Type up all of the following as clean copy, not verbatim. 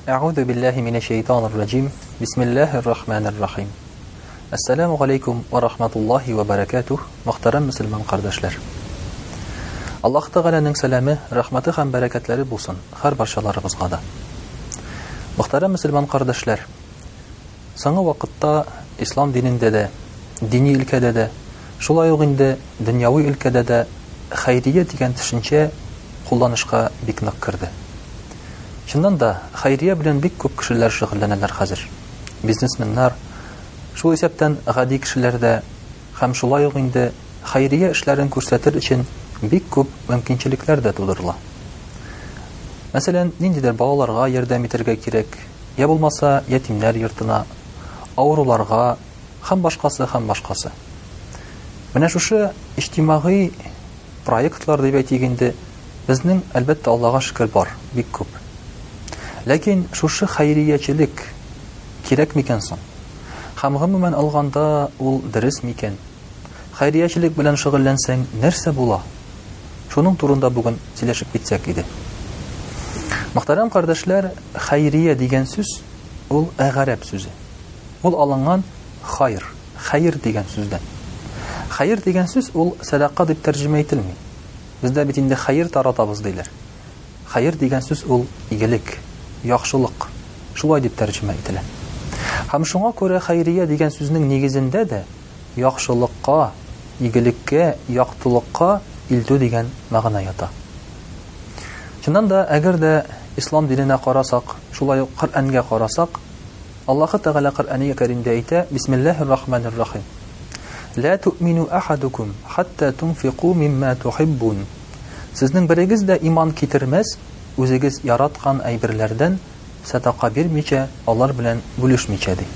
أعوذ بالله من الشيطان الرجيم بسم الله الرحمن الرحيم Assalamu alaikum wa rahmatullahi wa barakatuh. Muhtaram Müslüman kardeşler. Allah Teala'nın selamı, rahmeti hem bereketleri bulsun her barşalarımızga da. Muhtaram Müslüman kardeşler. Soңгы вакытта İslam dininde de, dini ülkede de, şulay ук инде dünyavi ülkede de hayriye degan düşünce kullanışka bik нык kirdi. Şundan da hayriye bilen bik köp kişiler şug'ullanalar hazır. Biznesmenler Шул исәптән гади кешеләр дә һәм шулай ук инде хәйрия эшләрен күрсәтер өчен бик күп мөмкинчелекләр дә тудырыла. Мәсәлән, ниндидер балаларга ярдәм итәргә кирәк, я булмаса ятимнәр йортына, авыруларга һәм башкасы. Менә шушы иҗтимагый проектлар дип әйтик инде безнең әлбәттә Аллага шөкер бар, бик күп. Ләкин шушы хәйриячелек кирәк микән соң? Һәм гомумән алганда ул дөрес микән? Хәйриячелек белән шөгыльләнсәң нәрсә була? Шуның турында бүген сөйләшеп китсәк иде. Мөхтәрәм кардәшләр, хәйрия дигән сүз ул гарәп сүзе. Ул алынган хәйр дигән сүздән. Хәйр дигән сүз ул садака дип тәрҗемә ителми. Бездә бит инде хәйр таратабыз диләр. Хәйр дигән сүз ул игелек, яхшылык. Шулай дип тәрҗемә ителә. Һәм шуңа күрә хәйрия дигән сүзнең нигезендә дә яхшылыкка, игелеккә, яктылыкка илтү дигән мәгънә ята. Чыннан да, әгәр дә ислам диненә карасак, шулай ук Коръәнгә карасак, Аллаһ Тәгалә Коръәни Кәримдә әйтә: Бисмиллаһир-рахманир-рахим. Ла ту'мину ахадукум хатта тунфиqu мимма тухиббун. Сезнең берегез дә иман китермәс, үзегез яраткан әйберләрдән садака бирмичә, алар белән бүлешмичә ди.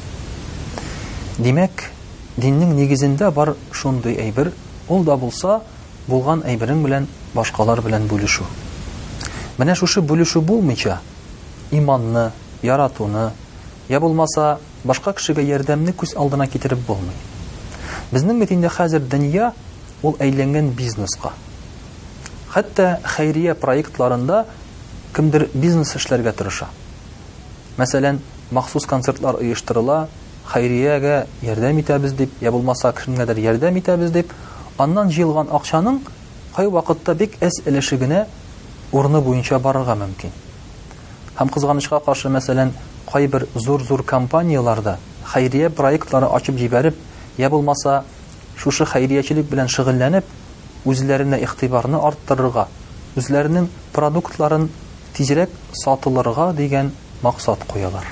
Димәк, диннең нигезендә бар шундый әйбер, ул да булса, булган әйберең белән башкалар белән бүлешү. Менә шушы бүлешү булмыйча, иманны, яратуны, я булмаса, башка кешегә ярдәмне күз алдына китереп булмый. Безнең бит инде хәзер дөнья ул әйләнгән бизнеска. Хәтта хәйрия проектларында кемдер бизнес эшләргә тырыша. Мәсәлән, махсус концертлар оештырыла, хәйриягә ярдәм итәбез дип, я булмаса кешегәдер ярдәм итәбез дип, аннан җыелган акчаның кай вакытта бик әз өлеше генә урыны буенча барырга мөмкин. Һәм кызганычка каршы, мәсәлән, кайбер зур компанияларда хәйрия проектлары ачып җибәреп, я булмаса шушы хәйриячелек белән шөгыльләнеп, үзләренә игътибарны арттырырга, үзләренең продуктларын тизрәк сатылырга дигән максат куялар.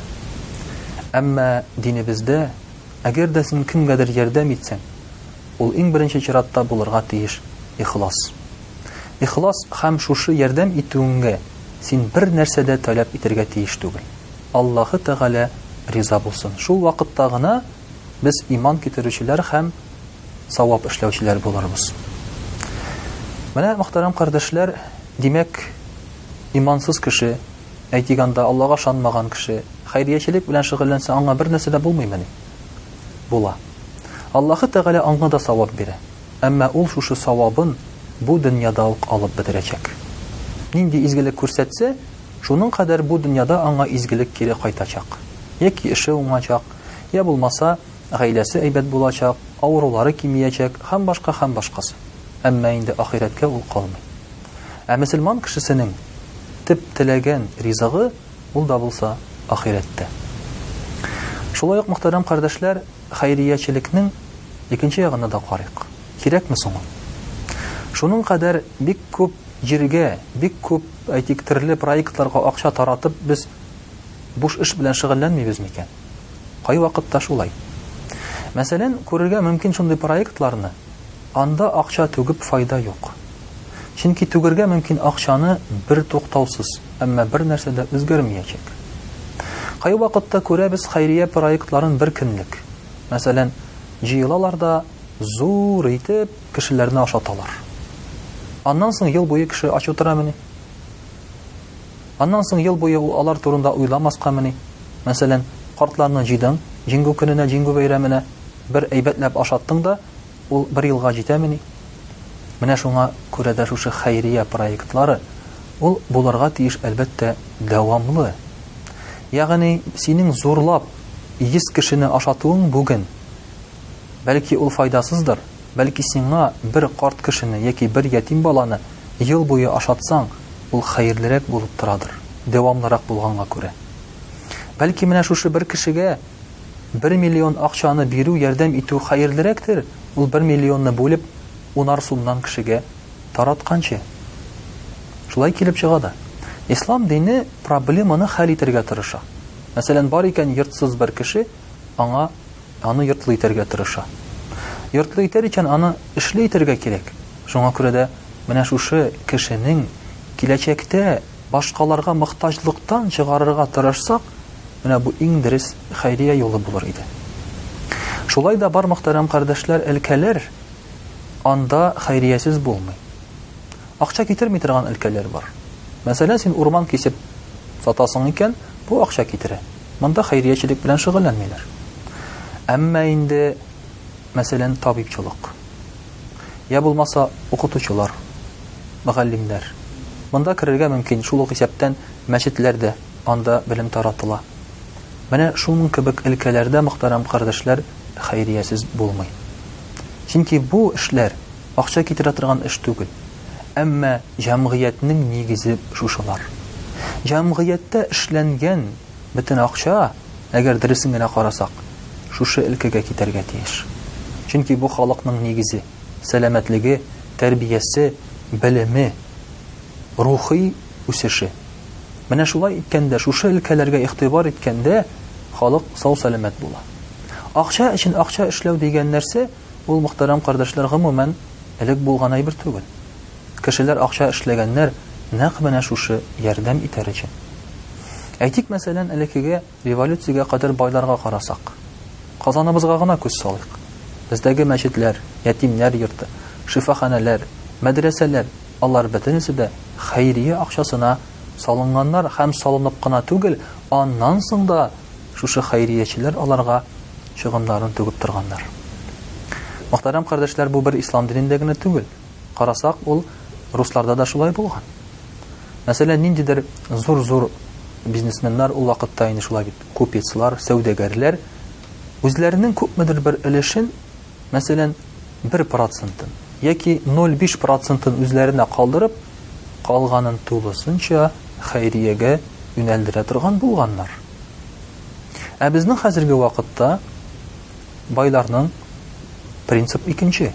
Әмма динебездә, әгәр дә син кемгәдер ярдәм итсәң, ул иң беренче чиратта булырга тиеш ихлас. Ихлас һәм шушы ярдәм итүеңгә син бер нәрсә дә таләп итәргә тиеш түгел. Аллаһ Тәгалә риза булсын. Шул вакытта гына без иман китерүчеләр һәм савап эшләүчеләр булырбыз. Менә, мөхтәрәм кардәшләр, димәк, имансыз кеше, әйтик анда Аллага ышанмаган кеше, хәйриячелек белән шөгыльләнсә, аңа бер нәрсә дә булмыймы? Була. Аллаһ Тәгалә аңа да савап бирә. Әмма ул шушы савабын бу дөньяда ук алып бетерәчәк. Нинди изгелек күрсәтсә, шуның кадәр бу дөньяда аңа изгелек кире кайтачак. Яки эше уңачак, я булмаса гаиләсе әйбәт булачак, авырулары кимиячәк, һәм башкасы. Әмма инде ахирәткә ул калмый. Ә мөселман кешесенең төп теләгән ризыгы ул да булса ахирәттә. Шулай ук, мөхтәрәм кардәшләр, хәйриячелекнең икенче ягына да карыйк. Кирәкме соң? Шуның кадәр бик күп җиргә, бик күп әйтик төрле проектларга акча таратып, без буш эш белән шөгыльләнмибез микән? Кай вакытта шулай? Мәсәлән, күрергә мөмкин шундый проектларны, анда акча түгеп файда юк. Чөнки түгергә мөмкин акчаны бер туктаусыз, әмма бер нәрсә дә үзгәрмәячәк. Кай вакытта күрәбез хәйрия проектларын бер көнлек. Мәсәлән, җыелалар да зур итеп кешеләрне ашаталар. Аннан соң ел буе кеше ач утырамыни? Аннан соң ел буе алар турында уйламаскамыни? Мәсәлән, картларны җыйдың, җиңгү көненә, җиңгү бәйрәменә бер әйбәтләп ашаттың да, ул бер елга җитәмени? Менә шуңа күрә дә шушы хәйрия проектлары ул булырга тиеш әлбәттә дәвамлы. Ягъни синең зурлап 100 кешене ашатуың бүген бәлки ул файдасыздыр. Бәлки сиңа бер карт кешене яки бер ятим баланы ел буе ашатсаң, ул хәерлерәк булып торадыр. Дәвамлырак булганга күрә. Бәлки менә шушы бер кешегә 1 миллион акчаны бирү, ярдәм итү хәерлерәктер. Ул 1 миллионны бүлеп 10 сумнан кешегә таратканчы. Шулай килеп чыга да. Ислам дине проблеманы хәл итәргә тырыша. Мәсәлән, бар икән йортсыз бер кеше, аны йортлы итәргә тырыша. Йортлы итәр икән аны эшле итәргә кирәк. Шуңа күрә дә менә шушы кешенең киләчәктә башкаларга мохтаҗлыктан чыгарырга тырышсак, менә бу иң дөрес хәйрия юлы булыр иде. Шулай да бар мөхтәрәм кардәшләр, өлкәләр анда хәйриясез булмый. Акча китерми торган өлкәләр бар. Мәсәлән, син урман кисеп сатасың икән, бу акча китерә. Монда хәйриячелек белән шөгыльләнмиләр. Әмма инде мәсәлән табибчылык, я булмаса укытучылар, мөгаллимнәр. Монда керергә мөмкин, шул ук исәптән мәчетләрдә анда белем таратыла. Менә шуның кебек өлкәләрдә мөхтәрәм кардәшләр хәйриясез булмый. Чөнки бу эшләр акча китерә торган эш түгел. Әмма җәмгыятьнең нигезе шушылар. Җәмгыятьтә эшләнгән бөтен акча, әгәр дөресен генә карасак, шушы өлкәгә китәргә тиеш. Чөнки бу халыкның нигезе, сәламәтлеге, тәрбиясе, белеме, рухи үсеше. Менә шулай иткәндә, шушы өлкәләргә игътибар иткәндә, халык сау сәламәт була. Акча өчен акча эшләү дигән нәрсә, ул мөхтәрәм кардәшләр, гомумән элек булган әйбер түгел. Кешеләр акча эшләгәннәр нәкъ менә шушы ярдәм итәр өчен. Әйтик, мәсәлән, элеккегә революциягә кадәр байларга карасак, Казаныбызга гына күз салыйк. Бездәге мәчетләр, ятимнәр йорты, шифаханәләр, мәдрәсәләр, алар бөтенесе дә хәйрия акчасына салынганнар һәм салынып кына түгел, аннан соң да шушы хәйриячеләр аларга чыгымнарын түгеп торганнар. Мөхтәрәм кардәшләр, бу бер ислам динендә генә түгел. Карасак, ул русларда да шулай булган. Мәсәлән, ниндидер зур-зур бизнесменнар ул вакытта инде шулай бит, купецлар, сәүдәгәрләр үзләренең күпмедер бер өлешен, мәсәлән, 1% яки 0,5% үзләренә калдырып, калганын тулысынча хәйриягә юнәлдерә торган булганнар. Ә безнең хәзерге вакытта байларның принцип икенче.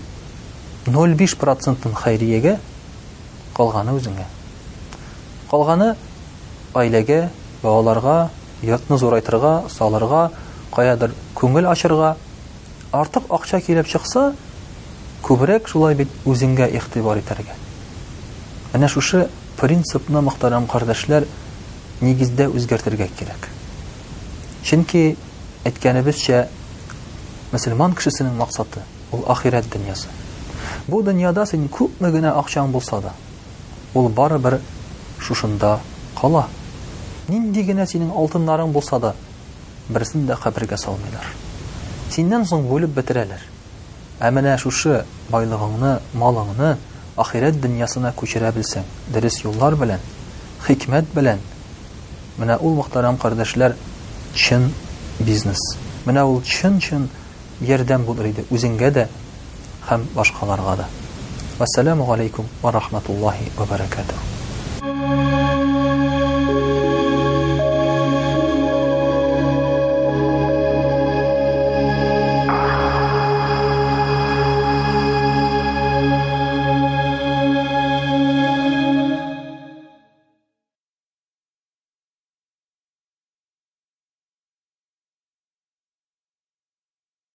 0,5% хәйриягә, калганы үзеңә. Калганы аиләгә, балаларга, йортны зурайтырга, салырга, каядыр күңел ачырга. Артык акча килеп чыкса, күбрәк шулай бит үзеңгә игътибар итәргә. Менә шушы принципны, мөхтәрәм кардәшләр, нигездә үзгәртергә кирәк. Чөнки әйткәнебезчә, мөселман кешесенең максаты ул ахират дөньясы. Бу дөньяда син күпме генә акчаң булса да, ул барыбер шушында кала. Нинди генә синең алтыннарың булса да, берсен дә кабергә салмыйлар. Синнән соң бүлеп бетерәләр. Ә менә шушы байлыгыңны, малыңны ахират дөньясына күчерә белсәң, дөрес юллар белән, хикмәт белән, менә ул, мөхтәрәм кардәшләр, чын бизнес. Менә ул чын ярдәм булыр иде үзеңгә дә һәм башкаларга да. Вассаламу алейкум ва рахматуллахи ва баракатуһ.